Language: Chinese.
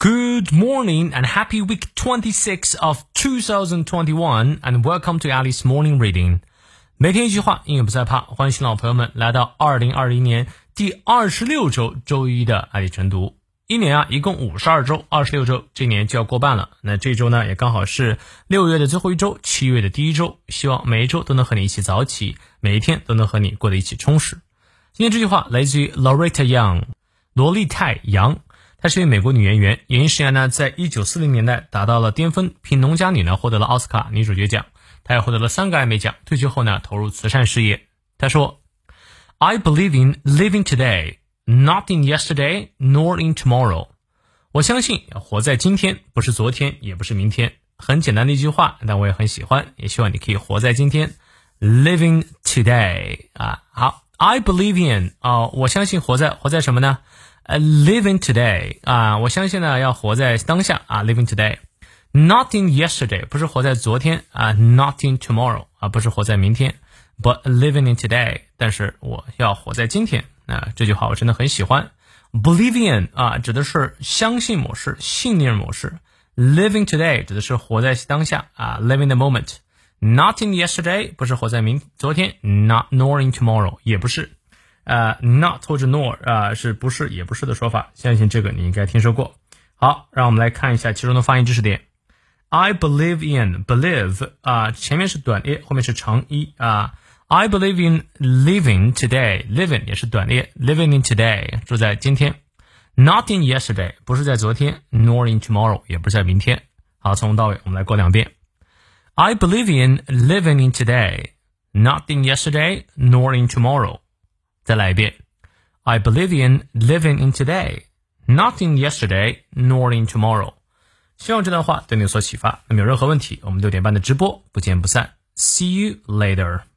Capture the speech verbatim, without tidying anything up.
Good morning and happy week twenty-six of two thousand twenty-one and welcome to Alice Morning Reading. 每天一句话，英语不再怕，欢迎新老朋友们来到二零二一年第二十六周周一的爱丽晨读。一年啊，一共五十二周，二十六周，这年就要过半了。那这周呢，也刚好是六月的最后一周，七月的第一周。希望每一周都能和你一起早起，每一天都能和你过得一起充实。今天这句话来自于 Loretta Young， 罗丽泰·杨。她是一位美国女演员，演艺生涯呢在一九四零年代达到了巅峰，凭农家女呢获得了奥斯卡女主角奖，她也获得了三个艾美奖。退休后呢投入慈善事业。她说 I believe in living today, not in yesterday, nor in tomorrow. 我相信活在今天，不是昨天，也不是明天。很简单的一句话，但我也很喜欢，也希望你可以活在今天。Living today 啊，好 I believe in 啊，我相信活在活在什么呢Uh, living today 啊，我相信呢要活在当下啊 living today not in yesterday 不是活在昨天啊 not in tomorrow 啊不是活在明天 but living in today 但是我要活在今天啊这句话我真的很喜欢 believe in 啊指的是相信某事信念某事 living today 指的是活在当下啊 living the moment not in yesterday 不是活在明昨天 not nor in tomorrow 也不是呃、uh, not 或者 nor 啊、uh, 是不是也不是的说法，相信这个你应该听说过。好，让我们来看一下其中的发音知识点。I believe in believe 啊、uh, 前面是短列，后面是长一啊。Uh, I believe in living today living 也是短列 living in today 住在今天。Not in yesterday 不是在昨天 nor in tomorrow 也不是在明天。好，从头到尾我们来过两遍。I believe in living in today not in yesterday nor in tomorrow。再来一遍 I believe in living in today, not in yesterday, nor in tomorrow. 希望这段话对你有所启发。那么有任何问题，我们六点半的直播不见不散。See you later.